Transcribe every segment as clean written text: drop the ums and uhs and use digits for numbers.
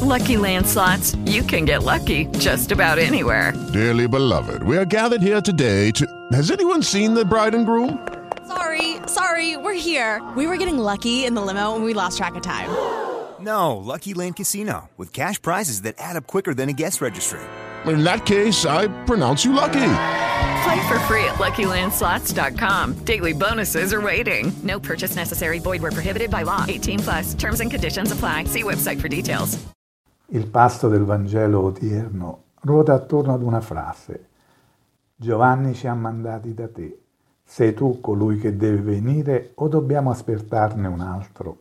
Lucky Land Slots, you can get lucky just about anywhere. Dearly beloved, we are gathered here today to... Has anyone seen the bride and groom? Sorry, we're here. We were getting lucky in the limo and we lost track of time. No, Lucky Land Casino, with cash prizes that add up quicker than a guest registry. In that case, I pronounce you lucky. Play for free at LuckyLandSlots.com. Daily bonuses are waiting. No purchase necessary. Void where prohibited by law. 18+. Terms and conditions apply. See website for details. Il pasto del Vangelo odierno ruota attorno ad una frase. Giovanni ci ha mandati da te. Sei tu colui che deve venire o dobbiamo aspettarne un altro?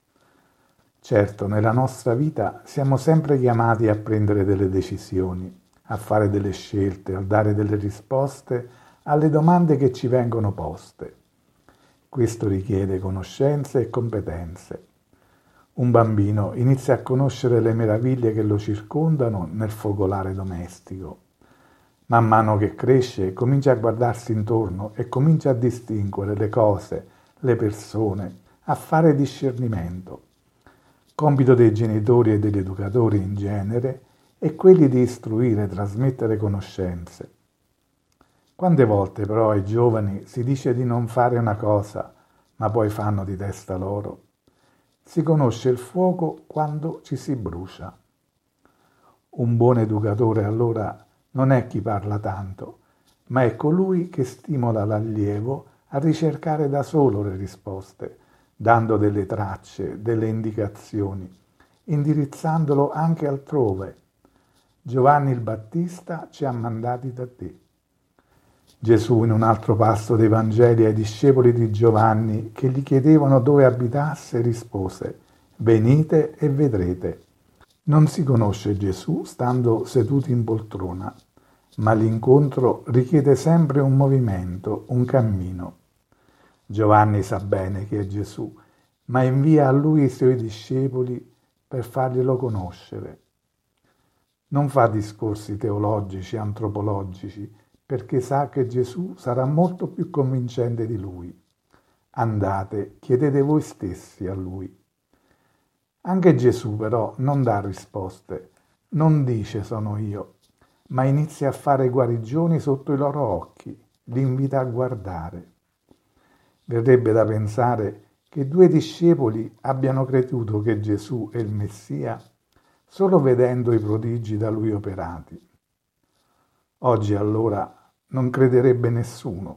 Certo, nella nostra vita siamo sempre chiamati a prendere delle decisioni, a fare delle scelte, a dare delle risposte alle domande che ci vengono poste. Questo richiede conoscenze e competenze. Un bambino inizia a conoscere le meraviglie che lo circondano nel focolare domestico. Man mano che cresce comincia a guardarsi intorno e comincia a distinguere le cose, le persone, a fare discernimento. Compito dei genitori e degli educatori in genere è quelli di istruire, trasmettere conoscenze. Quante volte però ai giovani si dice di non fare una cosa, ma poi fanno di testa loro? Si conosce il fuoco quando ci si brucia. Un buon educatore allora non è chi parla tanto, ma è colui che stimola l'allievo a ricercare da solo le risposte, dando delle tracce, delle indicazioni, indirizzandolo anche altrove. Giovanni il Battista ci ha mandati da te. Gesù in un altro passo dei Vangeli ai discepoli di Giovanni che gli chiedevano dove abitasse rispose: venite e vedrete. Non si conosce Gesù stando seduti in poltrona, ma l'incontro richiede sempre un movimento, un cammino. Giovanni sa bene che è Gesù, ma invia a lui i suoi discepoli per farglielo conoscere. Non fa discorsi teologici, antropologici, perché sa che Gesù sarà molto più convincente di lui. Andate, chiedete voi stessi a lui. Anche Gesù però non dà risposte, non dice sono io, ma inizia a fare guarigioni sotto i loro occhi, li invita a guardare. Verrebbe da pensare che 2 discepoli abbiano creduto che Gesù è il Messia solo vedendo i prodigi da lui operati. Oggi allora non crederebbe nessuno.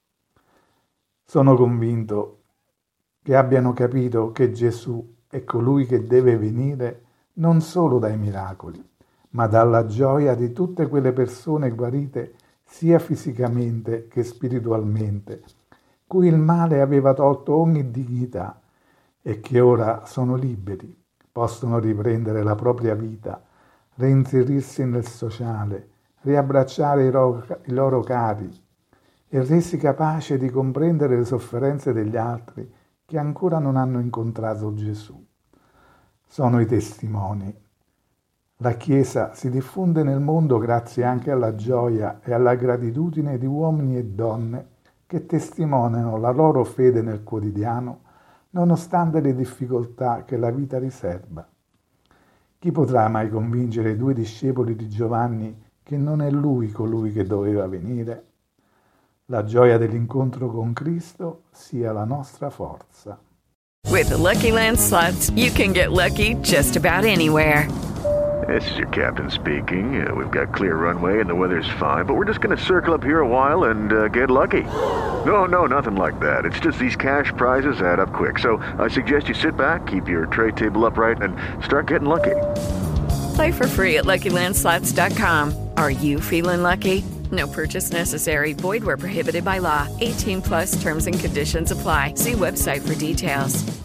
Sono convinto che abbiano capito che Gesù è colui che deve venire non solo dai miracoli, ma dalla gioia di tutte quelle persone guarite sia fisicamente che spiritualmente, cui il male aveva tolto ogni dignità e che ora sono liberi, possono riprendere la propria vita, reinserirsi nel sociale, riabbracciare i loro cari e resi capaci di comprendere le sofferenze degli altri che ancora non hanno incontrato Gesù. Sono i testimoni. La Chiesa si diffonde nel mondo grazie anche alla gioia e alla gratitudine di uomini e donne che testimoniano la loro fede nel quotidiano nonostante le difficoltà che la vita riserva. Chi potrà mai convincere i 2 discepoli di Giovanni che non è lui colui che doveva venire? La gioia dell'incontro con Cristo sia la nostra forza. With the Lucky Land Slots, you can get lucky just about anywhere. This is your captain speaking. We've got clear runway and the weather's fine, but we're just going to circle up here a while and get lucky. No, nothing like that. It's just these cash prizes add up quick. So I suggest you sit back, keep your tray table upright, and start getting lucky. Play for free at LuckyLandSlots.com. Are you feeling lucky? No purchase necessary. Void where prohibited by law. 18+ terms and conditions apply. See website for details.